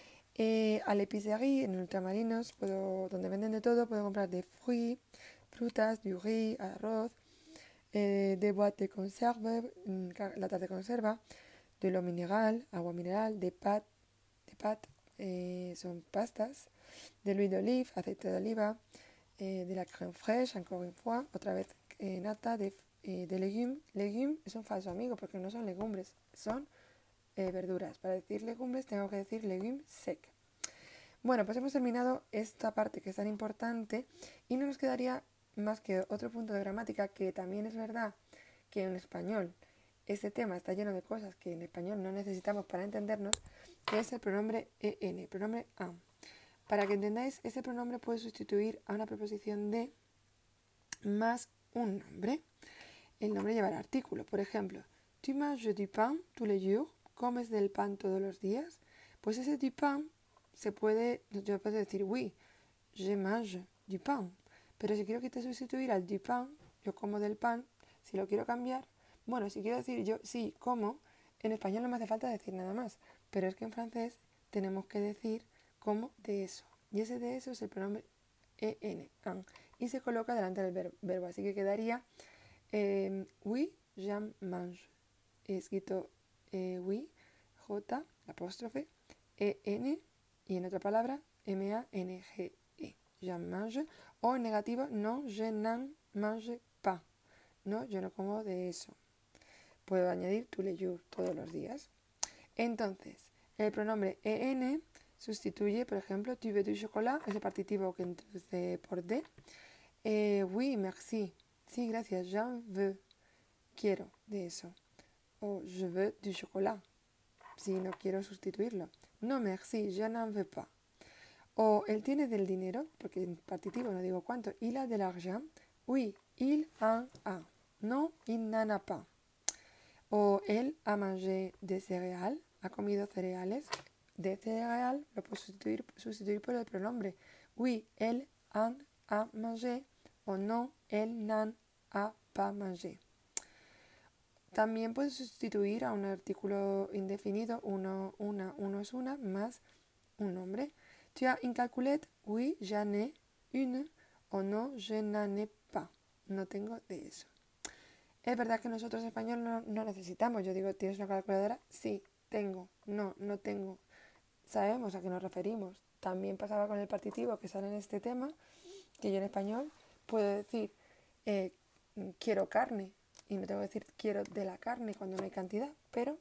Eh, a l'épicerie, en ultramarinos, puedo, donde venden de todo, puedo comprar de fruits, frutas, du riz, arroz, eh, de boîtes de conserve, latas de conserva, de l'eau mineral, agua mineral, de pat, de pat eh, son pastas, de l'huile d'olive, aceite de oliva, eh, de la crème fraîche, encore une fois, otra vez eh, nata, de, eh, de legumes. Legumes es un falso amigo porque no son legumbres, son eh, verduras. Para decir legumbres tengo que decir legumes sec. Bueno, pues hemos terminado esta parte que es tan importante y no nos quedaría más que otro punto de gramática, que también es verdad que en español este tema está lleno de cosas que en español no necesitamos para entendernos, que es el pronombre en, el pronombre am. Para que entendáis, este pronombre puede sustituir a una preposición de más un nombre. El nombre llevará artículo. Por ejemplo, tu manges du pain tous les jours, comes del pan todos los días? Pues ese du pain se puede, yo puedo decir oui, je mange du pain. Pero si quiero quitar sustituir al du pain, yo como del pan, si lo quiero cambiar, bueno, si quiero decir yo sí como, en español no me hace falta decir nada más, pero es que en francés tenemos que decir como de eso. Y ese de eso es el pronombre en, un, y se coloca delante del ver- verbo. Así que quedaría eh, oui, je mange. He escrito eh, oui, J, apóstrofe, en, y en otra palabra, M A N G E. Je mange. O en negativo, non, je n'en mange pas. No, yo no como de eso. Puedo añadir tous les jours, todos los días. Entonces, el pronombre en sustituye, por ejemplo, tu veux du chocolat, ese partitivo que introduce por de. Eh, oui, merci. Sí, gracias. J'en veux. Quiero de eso. O je veux du chocolat. Si no quiero sustituirlo. No, merci. Je n'en veux pas. O él tiene del dinero, porque en partitivo no digo cuánto. Il a de l'argent. Oui, il en a. No, il n'en a pas. O él a mangé de céréales, ha comido cereales. De céréales lo puedo sustituir, sustituir por el pronombre. Oui, él en a mangé. O no, él n'en a pas mangé. También puedo sustituir a un artículo indefinido, uno, una, uno es una, más un nombre. Tu as une calculette? Oui, j'en ai une. O no, je n'en ai pas. No tengo de eso. Es verdad que nosotros españoles no, no necesitamos. Yo digo, ¿tienes una calculadora? Sí, tengo. No, no tengo. Sabemos a qué nos referimos. También pasaba con el partitivo que sale en este tema, que yo en español puedo decir eh, quiero carne y no tengo que decir quiero de la carne cuando no hay cantidad, pero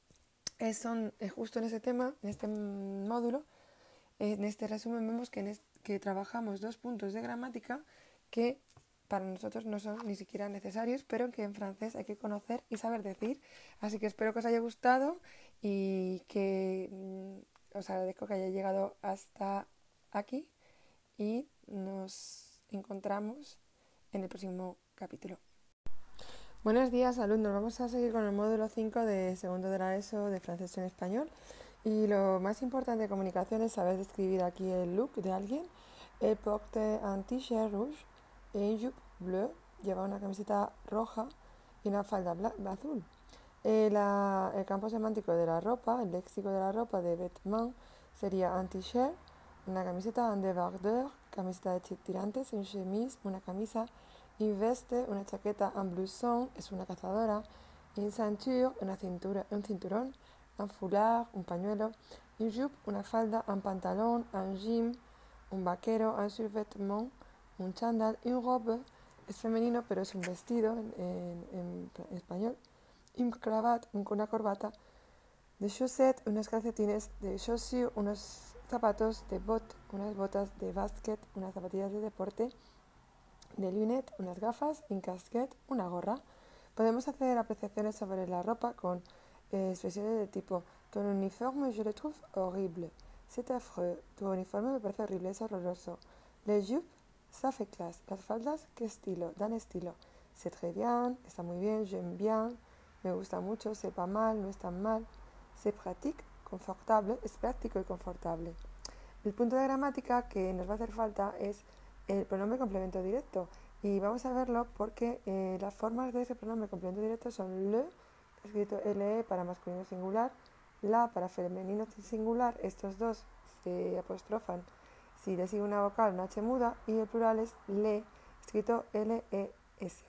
es, son, es justo en ese tema, en este módulo, en este resumen vemos que, en este, que trabajamos dos puntos de gramática que para nosotros no son ni siquiera necesarios, pero que en francés hay que conocer y saber decir. Así que espero que os haya gustado y que mm, os agradezco que haya llegado hasta aquí y nos encontramos en el próximo capítulo. Buenos días, alumnos. Vamos a seguir con el módulo cinco de segundo de la ESO de francés en español. Y lo más importante de comunicación es saber describir aquí el look de alguien. Elle porte un t-shirt rouge et une jupe bleue. Lleva una camiseta roja y una falda azul. Eh, la, el campo semántico de la ropa, el léxico de la ropa de vêtements sería un t-shirt, una camiseta, un débardeur, camiseta de tirantes, une chemise, una camisa, une veste, una chaqueta, un blouson, es una cazadora, une ceinture, una cintura, un cinturón, un foulard, un pañuelo, une jupe, una falda, un pantalón, un jean, un vaquero, un survêtement, un chándal, une robe, es femenino pero es un vestido en, en, en español, une cravate, una corbata, de chaussettes, unos calcetines, de chaussures, unos zapatos, de bottes, unas botas, de basket, unas zapatillas de deporte, de lunettes, unas gafas, une casquette, una gorra. Podemos hacer apreciaciones sobre la ropa con eh, expresiones de tipo ton uniforme je le trouve horrible, c'est affreux, tu uniforme me parece horrible, es horroroso. Les jupes, ça fait classe. Las faldas, qué estilo, dan estilo. C'est très bien, está muy bien, j'aime bien, me gusta mucho, c'est pas mal, no es tan mal. C'est pratique, confortable, es práctico y confortable. El punto de gramática que nos va a hacer falta es el pronombre complemento directo. Y vamos a verlo porque eh, las formas de ese pronombre complemento directo son le, escrito le para masculino singular, la para femenino singular. Estos dos se apostrofan si le sigue una vocal, una H muda, y el plural es le, escrito L E S.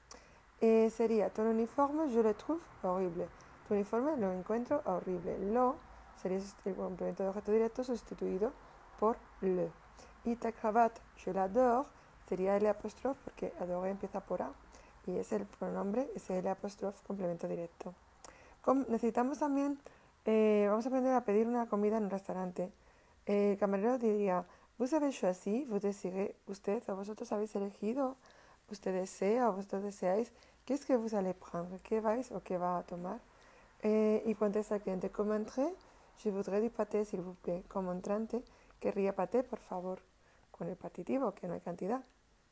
Eh, sería ton uniforme je le trouve horrible. Tu uniforme lo encuentro horrible. Lo sería el complemento de objeto directo sustituido por le. Y ta cravate je l'adore sería L apóstrofe porque adore empieza por A y es el pronombre, es L apóstrofe complemento directo. Com- necesitamos también, eh, vamos a aprender a pedir una comida en un restaurante. Eh, el camarero diría, vous avez choisi, vous désirez, usted o vosotros habéis elegido, usted desea o vosotros deseáis, qu'est-ce que vous allez prendre, qué vais o qué va a tomar. Eh, y contesta el cliente, como entrée, je voudrais du pâté, s'il vous plaît. Como entrante, querría paté, por favor, con el partitivo, que no hay cantidad.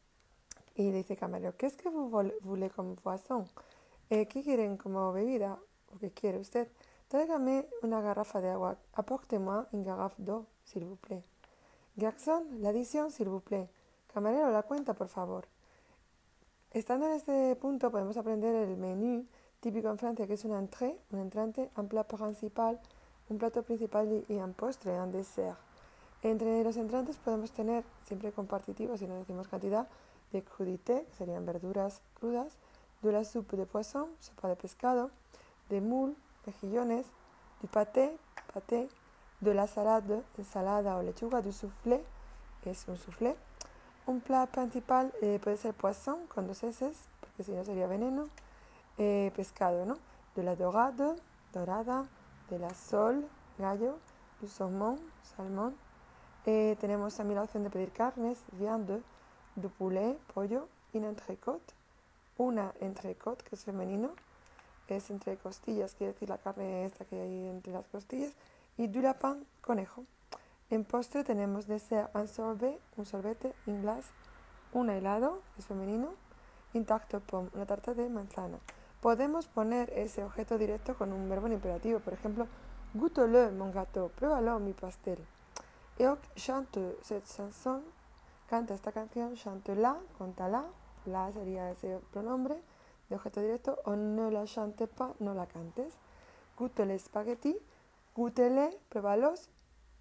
Y dice el camarero, qu'est-ce que vous voulez comme boisson? Eh, ¿Qué quieren como bebida? ¿O qué quiere usted? Tráigame una garrafa de agua. Apportez-moi une garrafe d'eau, s'il vous plaît. Garçon, l'addition, s'il vous plaît. Camarero, la cuenta, por favor. Estando en este punto podemos aprender el menú típico en Francia, que es una entrée, un entrante, un plat principal, un plato principal y un postre, un dessert. Entre los entrantes podemos tener, siempre compartitivos, si no decimos cantidad, de crudité, que serían verduras crudas, de la soupe de poisson, sopa de pescado, de moule, mejillones, du pâté, pâté, de la salade, ensalada o lechuga, du soufflé, es un soufflé. Un plat principal eh, puede ser poisson con dos S, porque si no sería veneno, eh, pescado, ¿no? De la dorade, dorada, de la sole, gallo, du saumon, salmón. Eh, tenemos también la opción de pedir carnes, viande, du poulet, pollo, une entrecôte, una entrecôte, que es femenino, es entre costillas, quiere decir la carne esta que hay entre las costillas, y du lapin, conejo. En postre tenemos dessert un sorbet, un sorbete, un glace, un helado, es femenino, un tarte aux pommes, una tarta de manzana. Podemos poner ese objeto directo con un verbo en imperativo, por ejemplo, goûte-le mon gâteau, pruébalo mi pastel. Eoc chante cette chanson, canta esta canción, chante-la, contala, la sería ese pronombre de objeto directo, o ne la chante pas, no la cantes. Goûte les spaghetti, goûte-les, pruébalos,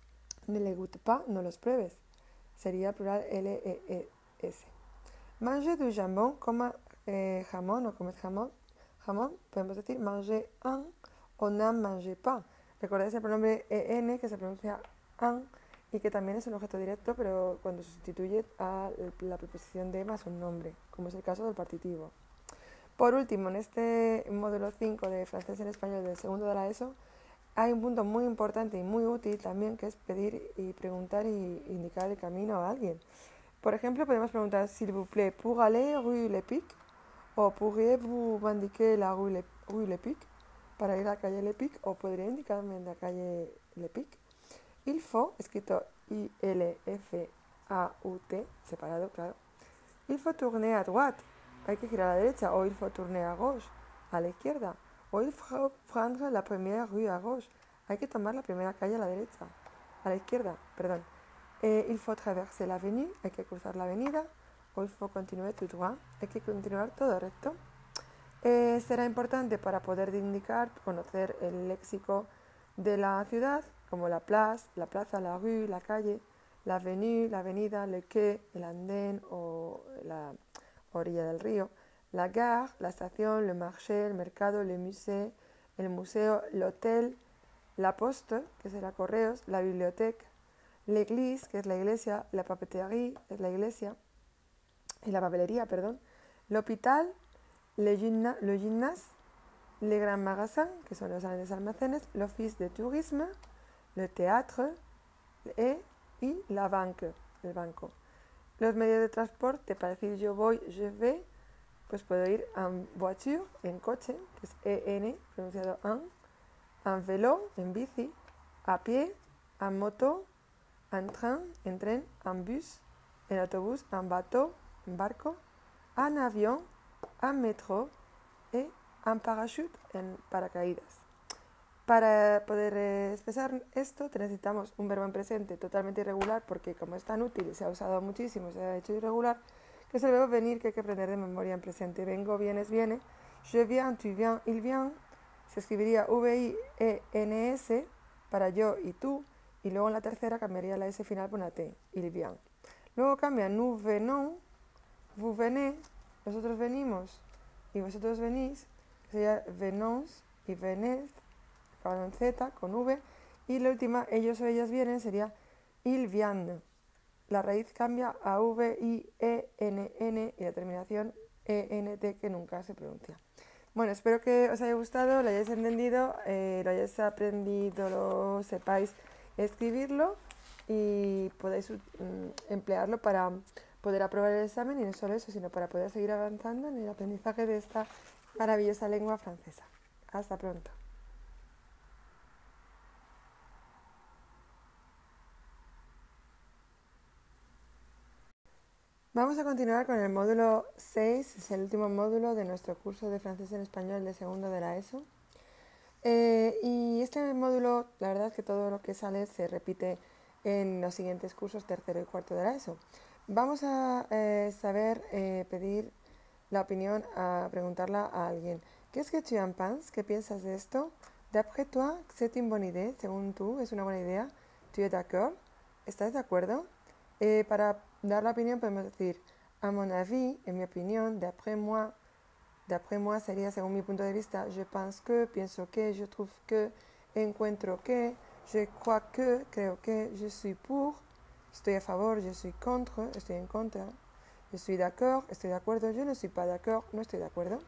ne les goûte pas, no los pruebes. Sería plural L E E S. Manger du jambon, coma eh, jamón o comed jamón, jamón, podemos decir manger un o n'en mangez pas. Recordad el pronombre en que se pronuncia un y que también es un objeto directo, pero cuando se sustituye a la preposición de más un nombre, como es el caso del partitivo. Por último, en este módulo cinco de francés en español del segundo de la ESO, hay un punto muy importante y muy útil también, que es pedir y preguntar y indicar el camino a alguien. Por ejemplo, podemos preguntar, s'il vous plaît, pour aller rue Lepic, o pourriez-vous m'indiquer la rue, Le, rue Lepic, para ir a la calle Lepic, o podría indicarme la calle Lepic. Il faut, escrito I L F A U T, separado, claro. Il faut tourner à droite, hay que girar a la derecha, o il faut tourner à gauche, a la izquierda. O il faut prendre la première rue à gauche, hay que tomar la primera calle a la derecha, a la izquierda, perdón. Eh, il faut traverser l'avenue, hay que cruzar la avenida. O il faut continuer tout droit, hay que continuar todo recto. Eh, será importante para poder indicar, conocer el léxico de la ciudad, como la place, la plaza, la rue, la calle, la avenue, la avenida, le quai, el andén o la orilla del río, la gare, la estación, le marché, el mercado, le musée, el museo, l'hôtel, la poste, que será correos, la biblioteca, l'église, que es la iglesia, la papeterie, es la iglesia, y la papelería, perdón, l'hôpital, le, gymna, le gymnase, les grands magasins, que son los grandes almacenes, l'office de tourisme, le théâtre et, y la banque, el banco. Los medios de transporte, para decir yo voy, je vais, pues puedo ir en voiture, en coche, que es E N, pronunciado en, en vélo, en bici, a pie, en moto, en train, en tren, en bus, en autobús, en bateau, en barco, en avión, en metro y en parachute, en paracaídas. Para poder eh, expresar esto necesitamos un verbo en presente totalmente irregular, porque como es tan útil y se ha usado muchísimo, se ha hecho irregular, que es el verbo venir, que hay que aprender de memoria en presente. Vengo, vienes, viene. Je viens, tu viens, il vient. Se escribiría V I E N S para yo y tú, y luego en la tercera cambiaría la S final por una T, il vient. Luego cambia nous venons, vous venez, nosotros venimos y vosotros venís, que sería venons y venez, con Z, con V, y la última, ellos o ellas vienen, sería ils viennent. La raíz cambia a V I E N N y la terminación E N T, que nunca se pronuncia. Bueno, espero que os haya gustado, lo hayáis entendido, eh, lo hayáis aprendido, lo sepáis escribirlo y podáis um, emplearlo para poder aprobar el examen, y no solo eso, sino para poder seguir avanzando en el aprendizaje de esta maravillosa lengua francesa. Hasta pronto. Vamos a continuar con el módulo seis, es el último módulo de nuestro curso de francés en español de segundo de la ESO. Eh, y este módulo, la verdad es que todo lo que sale se repite en los siguientes cursos, tercero y cuarto de la ESO. Vamos a eh, saber eh, pedir la opinión, a preguntarla a alguien. ¿Qu'est-ce que tu en penses? ¿Qué piensas de esto? D'après toi, c'est une bonne idée. Según tú, es una buena idea. Tu es d'accord? ¿Estás de acuerdo? Eh, para dar la opinión podemos decir, a mon avis, en mi opinión, d'après moi, d'après moi sería según mi punto de vista, je pense que, pienso que, je trouve que, encuentro que, je crois que, creo que, je suis pour, estoy a favor, je suis contre, estoy en contra, je suis d'accord, estoy de acuerdo, je ne suis pas d'accord, no estoy de acuerdo.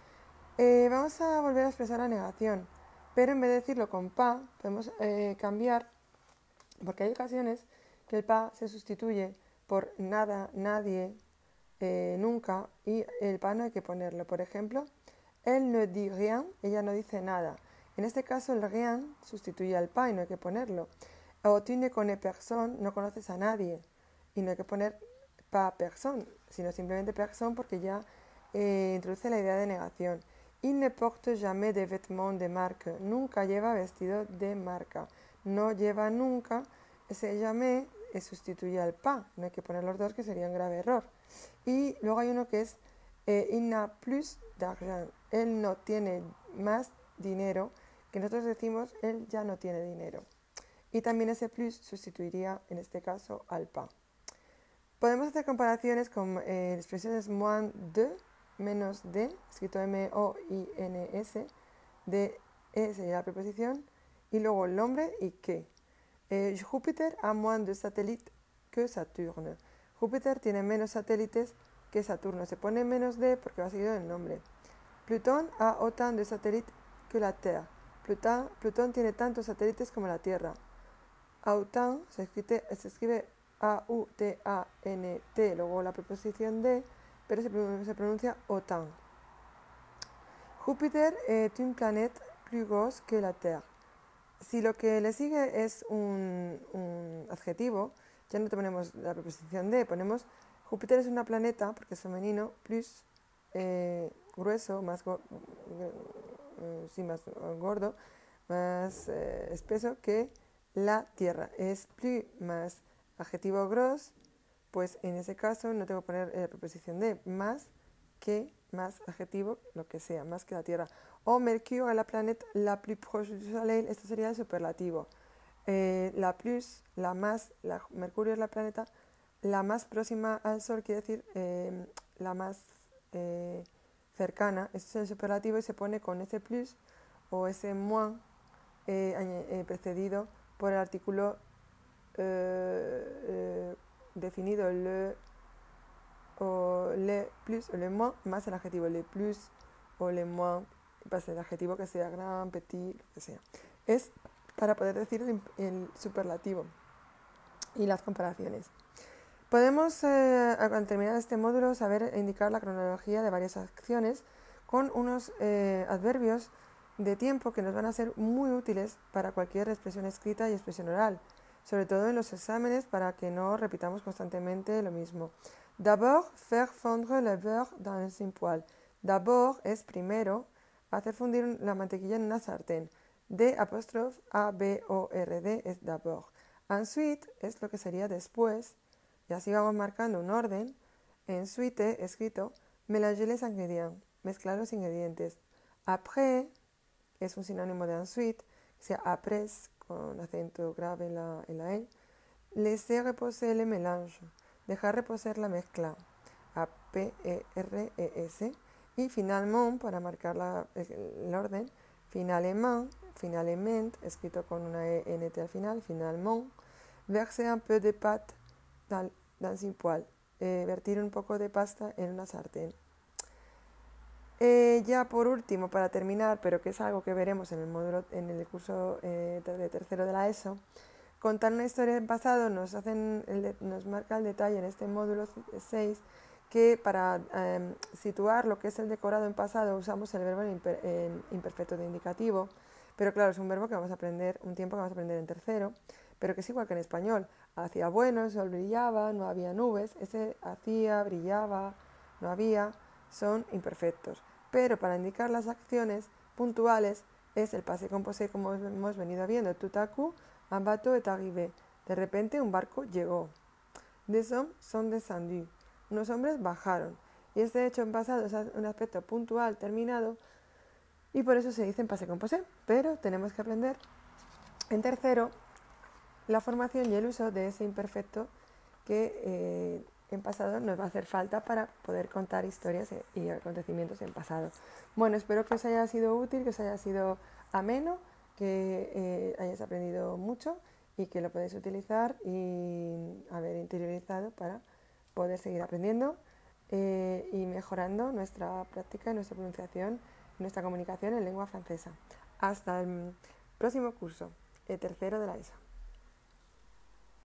Eh, vamos a volver a expresar la negación, pero en vez de decirlo con pa, podemos eh, cambiar, porque hay ocasiones que el pa se sustituye por nada, nadie, eh, nunca, y el pa no hay que ponerlo. Por ejemplo, elle ne dit rien, ella no dice nada. En este caso el rien sustituye al pa y no hay que ponerlo. O tu ne connais personne, no conoces a nadie, y no hay que poner pa personne, sino simplemente personne porque ya eh, introduce la idea de negación. Il ne porte jamais de vêtements de marque, nunca lleva vestido de marca. No lleva nunca, ese jamais sustituye al pa, no hay que poner los dos, que sería un grave error. Y luego hay uno que es eh, il n'a plus d'argent, él no tiene más dinero, que nosotros decimos él ya no tiene dinero. Y también ese plus sustituiría en este caso al pa. Podemos hacer comparaciones con eh, expresiones moins de, menos de, escrito M O I N S, de E sería la preposición, y luego el nombre y que. Eh, Júpiter a moins de satélites que Saturne. Júpiter tiene menos satélites que Saturno. Se pone menos de porque va seguido del nombre. Plutón a autant de satélites que la Terre. Plutón, Plutón tiene tantos satélites como la Tierra. Autant se escribe, se escribe A U T A N T, luego la preposición de, pero se, se pronuncia autant. Júpiter est une planète plus grosse que la Terre. Si lo que le sigue es un, un adjetivo, ya no te ponemos la preposición de, ponemos Júpiter es una planeta, porque es femenino, plus eh, grueso, más, go, eh, sí, más gordo, más eh, espeso que la Tierra. Es plus más adjetivo gros, pues en ese caso no tengo que poner la preposición de, más que, más adjetivo, lo que sea, más que la Tierra. O Mercurio es la planeta la plus proche du Soleil, esto sería el superlativo. Eh, la plus, la más, la, Mercurio es la planeta la más próxima al Sol, quiere decir eh, la más eh, cercana, este es el superlativo y se pone con ese plus o ese moins eh, eh, precedido por el artículo eh, eh, definido le o le plus o le moins más el adjetivo le plus o le moins, pasa el adjetivo que sea gran, petit, lo que sea. Es para poder decir el, el superlativo y las comparaciones. Podemos, eh, al terminar este módulo, saber indicar la cronología de varias acciones con unos eh, adverbios de tiempo que nos van a ser muy útiles para cualquier expresión escrita y expresión oral, sobre todo en los exámenes para que no repitamos constantemente lo mismo. D'abord, faire fondre le beurre dans un poêle. D'abord es primero, hacer fundir la mantequilla en una sartén. D apóstrofe A B O R D es d'abord. Ensuite es lo que sería después, y así vamos marcando un orden. Ensuite, escrito, mélanger les ingrédients, mezclar los ingredientes. Après es un sinónimo de ensuite, o sea, après, con acento grave en la, en la E. Laisser reposer le mélange, dejar reposar la mezcla. A P E R E S. Y finalement, para marcar la, el orden, finalement, finalement, escrito con una E N T al final, finalement, verser un peu de pâte dans, dans un poêle, eh, vertir un poco de pasta en una sartén. Eh, ya por último, para terminar, pero que es algo que veremos en el módulo, en el curso eh, de tercero de la ESO, contar una historia del pasado nos, hacen el, nos marca el detalle en este módulo seis que para eh, situar lo que es el decorado en pasado usamos el verbo en, imper, en imperfecto de indicativo, pero claro, es un verbo que vamos a aprender, un tiempo que vamos a aprender en tercero, pero que es igual que en español. Hacía bueno, el sol brillaba, no había nubes, ese hacía, brillaba, no había, son imperfectos. Pero para indicar las acciones puntuales es el passé composé como hemos venido viendo. Tout à coup, un bateau est arrivé. De repente un barco llegó. Des hommes sont descendus. Unos hombres bajaron. Y este hecho en pasado es un aspecto puntual, terminado, y por eso se dice en passé composé. Pero tenemos que aprender en tercero la formación y el uso de ese imperfecto que eh, en pasado nos va a hacer falta para poder contar historias y acontecimientos en pasado. Bueno, espero que os haya sido útil, que os haya sido ameno, que eh, hayáis aprendido mucho y que lo podéis utilizar y haber interiorizado para poder seguir aprendiendo eh, y mejorando nuestra práctica, nuestra pronunciación, nuestra comunicación en lengua francesa. Hasta el próximo curso, el tercero de la ESO.